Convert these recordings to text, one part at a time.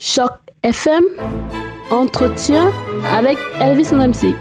Choc FM, entretien avec Elvis MC.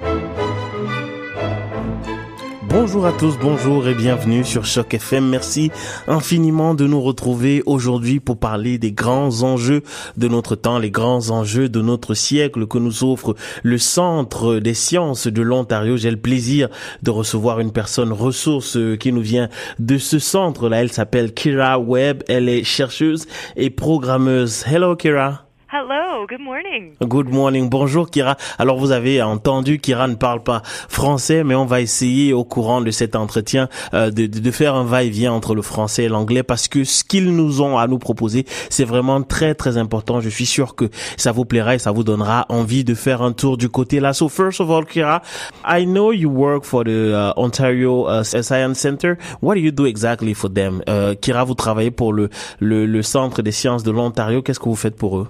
Bonjour à tous, bonjour et bienvenue sur Choc FM. Merci infiniment de nous retrouver aujourd'hui pour parler des grands enjeux de notre temps, les grands enjeux de notre siècle que nous offre le Centre des sciences de l'Ontario. J'ai le plaisir de recevoir une personne ressource qui nous vient de ce centre-là. Elle s'appelle Kira Webb. Elle est chercheuse et programmeuse. Hello Kira. Hello, good morning. Good morning. Bonjour Kira. Alors vous avez entendu, Kira ne parle pas français, mais on va essayer au courant de cet entretien de faire un va-et-vient entre le français et l'anglais parce que ce qu'ils nous ont à nous proposer, c'est vraiment très très important. Je suis sûr que ça vous plaira et ça vous donnera envie de faire un tour du côté là. So first of all, Kira, I know you work for the Ontario Science Center. What do you do exactly for them? Kira, vous travaillez pour le Centre des sciences de l'Ontario. Qu'est-ce que vous faites pour eux?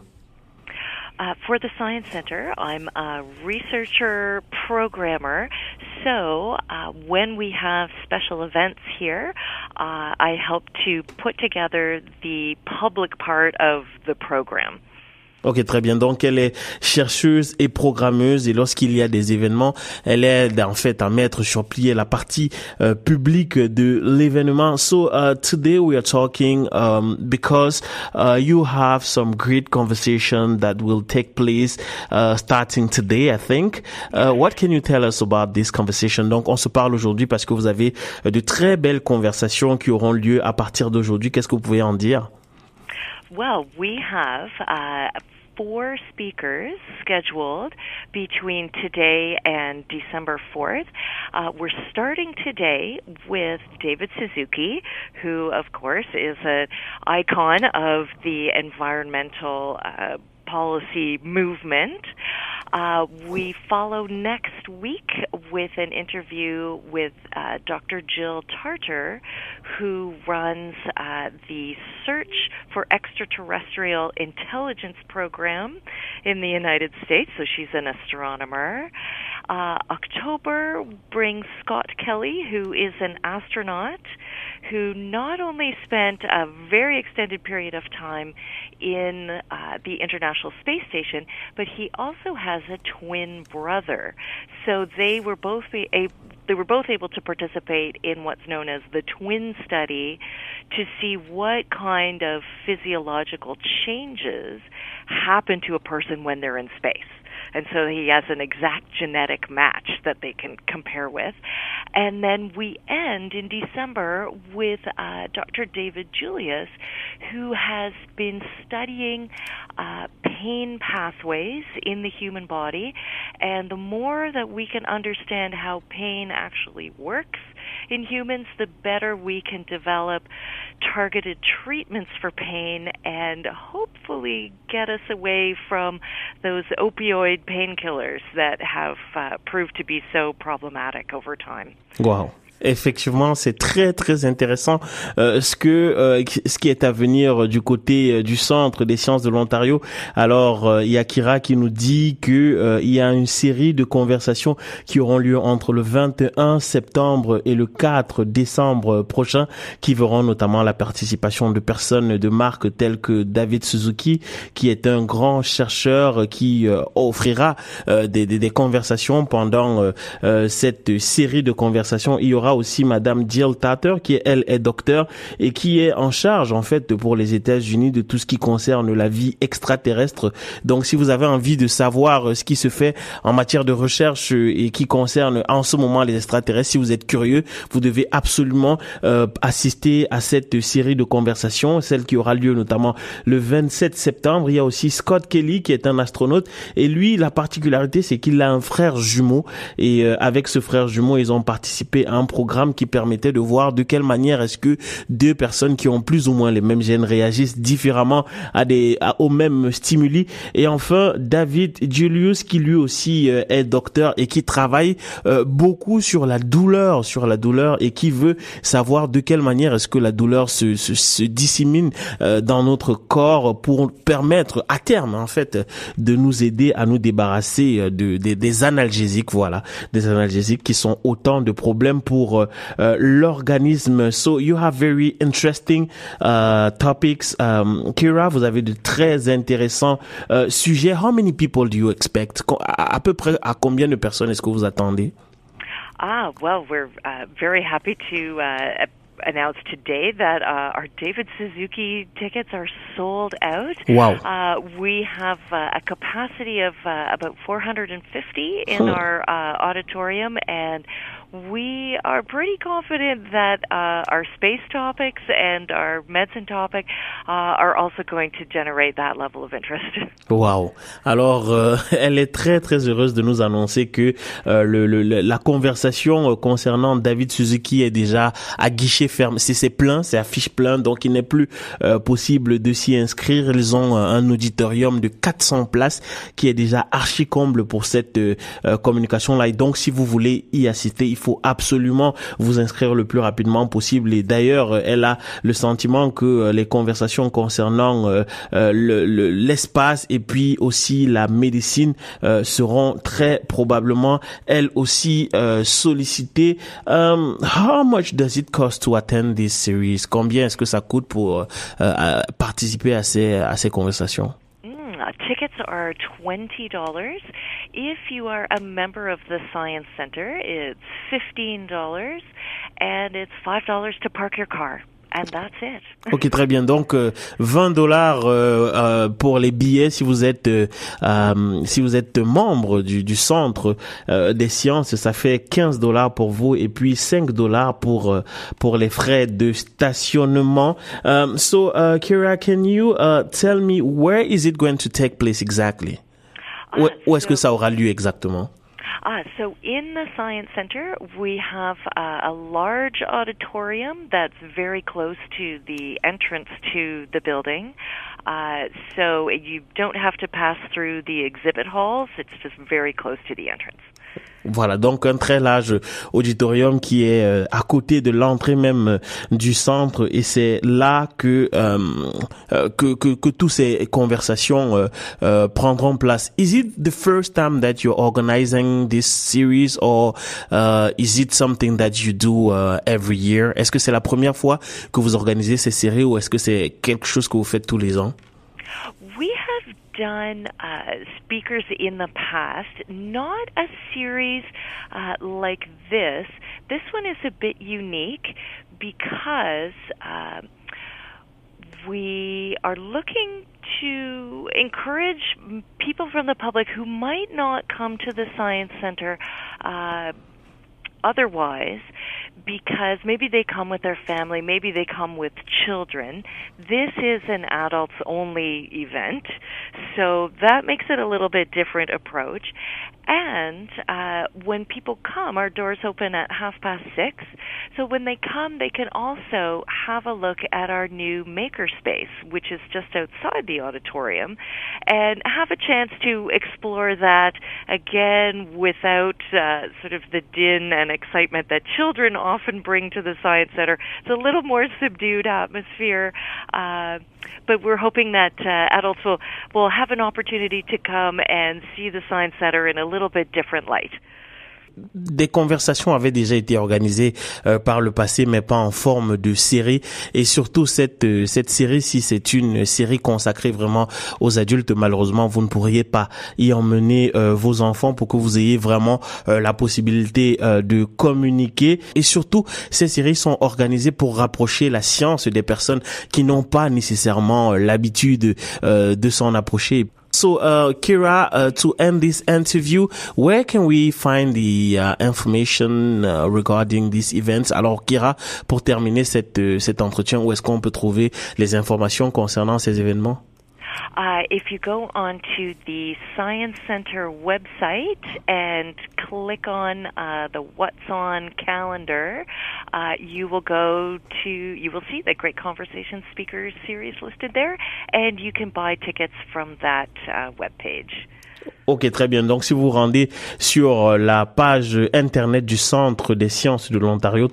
For the Science Center, I'm a researcher programmer. So when we have special events here, I help to put together the public part of the program. Ok, très bien. Donc, elle est chercheuse et programmeuse et lorsqu'il y a des événements, elle aide en fait à mettre sur pied la partie publique de l'événement. So, today we are talking because you have some great conversation that will take place starting today, I think. What can you tell us about this conversation? Donc, on se parle aujourd'hui parce que vous avez de très belles conversations qui auront lieu à partir d'aujourd'hui. Qu'est-ce que vous pouvez en dire? Well, we have 4 speakers scheduled between today and December 4th. We're starting today with David Suzuki, who, of course, is an icon of the environmental policy movement. We follow next week with an interview with Dr. Jill Tarter, who runs the Search for Extraterrestrial Intelligence program in the United States. So she's an astronomer. October brings Scott Kelly, who is an astronaut who not only spent a very extended period of time in the International Space Station, but he also has a twin brother. So they were both able to participate in what's known as the twin study to see what kind of physiological changes happen to a person when they're in space. And so he has an exact genetic match that they can compare with. And then we end in December with Dr. David Julius, who has been studying pain pathways in the human body. And the more that we can understand how pain actually works in humans, the better we can develop targeted treatments for pain and hopefully get us away from those opioid painkillers that have proved to be so problematic over time. Wow. Effectivement, c'est très très intéressant ce qui est à venir du côté du Centre des sciences de l'Ontario. Alors, il y a Kira qui nous dit que il y a une série de conversations qui auront lieu entre le 21 septembre et le 4 décembre prochain, qui verront notamment la participation de personnes de marque telles que David Suzuki, qui est un grand chercheur qui offrira des conversations pendant cette série de conversations. Il y aura aussi Madame Jill Tarter qui elle est docteur et qui est en charge en fait pour les États-Unis de tout ce qui concerne la vie extraterrestre. Donc si vous avez envie de savoir ce qui se fait en matière de recherche et qui concerne en ce moment les extraterrestres, si vous êtes curieux, vous devez absolument assister à cette série de conversations, celle qui aura lieu notamment le 27 septembre. Il y a aussi Scott Kelly qui est un astronaute et lui la particularité c'est qu'il a un frère jumeau et avec ce frère jumeau ils ont participé à un programme qui permettait de voir de quelle manière est-ce que deux personnes qui ont plus ou moins les mêmes gènes réagissent différemment aux mêmes stimuli. Et enfin, David Julius qui lui aussi est docteur et qui travaille beaucoup sur la douleur et qui veut savoir de quelle manière est-ce que la douleur se dissémine dans notre corps pour permettre à terme en fait de nous aider à nous débarrasser des analgésiques, voilà, des analgésiques qui sont autant de problèmes pour pour l'organisme. So you have very interesting topics. Kira, vous avez de très intéressants sujets. How many people do you expect? À peu près à combien de personnes est-ce que vous attendez? Well, we're very happy to announce today that our David Suzuki tickets are sold out. Wow. We have a capacity of about 450 in our auditorium, and we are pretty confident that our space topics and our medicine topic are also going to generate that level of interest. Wow. Alors, elle est très très heureuse de nous annoncer que la conversation concernant David Suzuki est déjà à guichet ferme. C'est plein, c'est affiche plein, donc il n'est plus possible de s'y inscrire. Ils ont un auditorium de 400 places qui est déjà archi comble pour cette communication-là. Et donc, si vous voulez y assister, il faut absolument vous inscrire le plus rapidement possible. Et d'ailleurs, elle a le sentiment que les conversations concernant l'espace et puis aussi la médecine seront très probablement elles aussi sollicitées. How much does it cost to attend this series? Combien est-ce que ça coûte pour participer à ces conversations? Tickets are $20. If you are a member of the Science Center, it's $15, and it's $5 to park your car. And that's it. Ok, très bien. Donc, $20 pour les billets si vous êtes membre du centre des sciences, ça fait $15 pour vous et puis $5 pour les frais de stationnement. So, Kira, can you tell me where is it going to take place exactly? Où est-ce que ça aura lieu exactement? So in the Science Center, we have a large auditorium that's very close to the entrance to the building. So you don't have to pass through the exhibit halls. It's just very close to the entrance. Voilà, donc un très large auditorium qui est à côté de l'entrée même du centre, et c'est là que toutes ces conversations prendront place. Is it the first time that you're organizing this series, or is it something that you do every year? Est-ce que c'est la première fois que vous organisez ces séries, ou est-ce que c'est quelque chose que vous faites tous les ans? We have done speakers in the past, not a series like this. This one is a bit unique because we are looking to encourage people from the public who might not come to the Science Center otherwise, because maybe they come with their family, maybe they come with children. This is an adults-only event, so that makes it a little bit different approach. And when people come, our doors open at 6:30. So when they come, they can also have a look at our new makerspace, which is just outside the auditorium, and have a chance to explore that again without sort of the din and excitement that children often bring to the Science Center. It's a little more subdued atmosphere, but we're hoping that adults will have an opportunity to come and see the Science Center in a little bit different light. Des conversations avaient déjà été organisées par le passé, mais pas en forme de série. Et surtout cette série-ci, c'est une série consacrée vraiment aux adultes. Malheureusement, vous ne pourriez pas y emmener vos enfants pour que vous ayez vraiment la possibilité de communiquer. Et surtout, ces séries sont organisées pour rapprocher la science des personnes qui n'ont pas nécessairement l'habitude de s'en approcher. So, Kira, to end this interview, where can we find the information regarding these events? Alors, Kira, pour terminer cet entretien, où est-ce qu'on peut trouver les informations concernant ces événements? If you go onto the Science Center website and click on the What's On calendar, you will see the Great Conversation Speakers series listed there, and you can buy tickets from that webpage. Ok, très bien. Donc, si vous vous rendez sur la page internet du Centre des sciences de l'Ontario,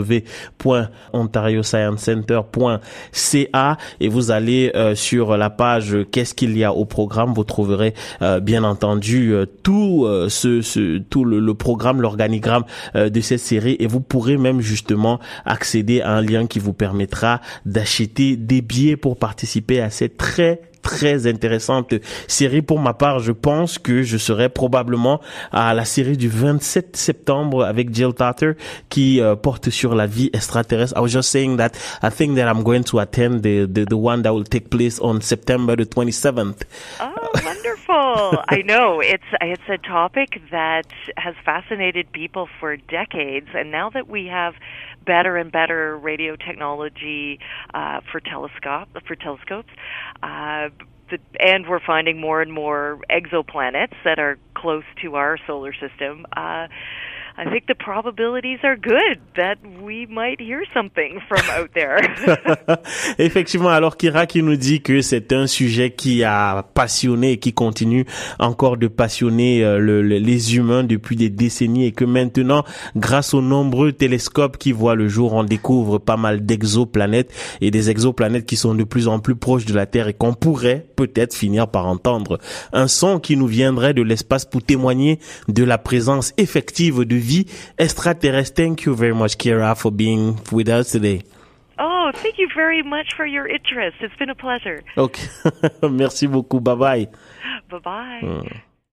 www.ontariosciencecenter.ca, et vous allez sur la page Qu'est-ce qu'il y a au programme, vous trouverez bien entendu tout le programme, l'organigramme de cette série, et vous pourrez même justement accéder à un lien qui vous permettra d'acheter des billets pour participer à cette très intéressante série. Pour ma part, je pense que je serai probablement à la série du 27 septembre avec Jill Tarter qui porte sur la vie extraterrestre. I was just saying that I think that I'm going to attend the one that will take place on September the 27th. Oh, wonderful. I know. It's a topic that has fascinated people for decades, and now that we have better and better radio technology for telescopes, and we're finding more and more exoplanets that are close to our solar system. I think the probabilities are good that we might hear something from out there. Effectivement, alors Kira qui nous dit que c'est un sujet qui a passionné et qui continue encore de passionner les humains depuis des décennies, et que maintenant, grâce aux nombreux télescopes qui voient le jour, on découvre pas mal d'exoplanètes, et des exoplanètes qui sont de plus en plus proches de la Terre, et qu'on pourrait peut-être finir par entendre un son qui nous viendrait de l'espace pour témoigner de la présence effective de vie extraterrestre. Thank you very much, Kira, for being with us today. Oh, thank you very much for your interest. It's been a pleasure. Okay. Merci beaucoup. Bye-bye. Bye-bye.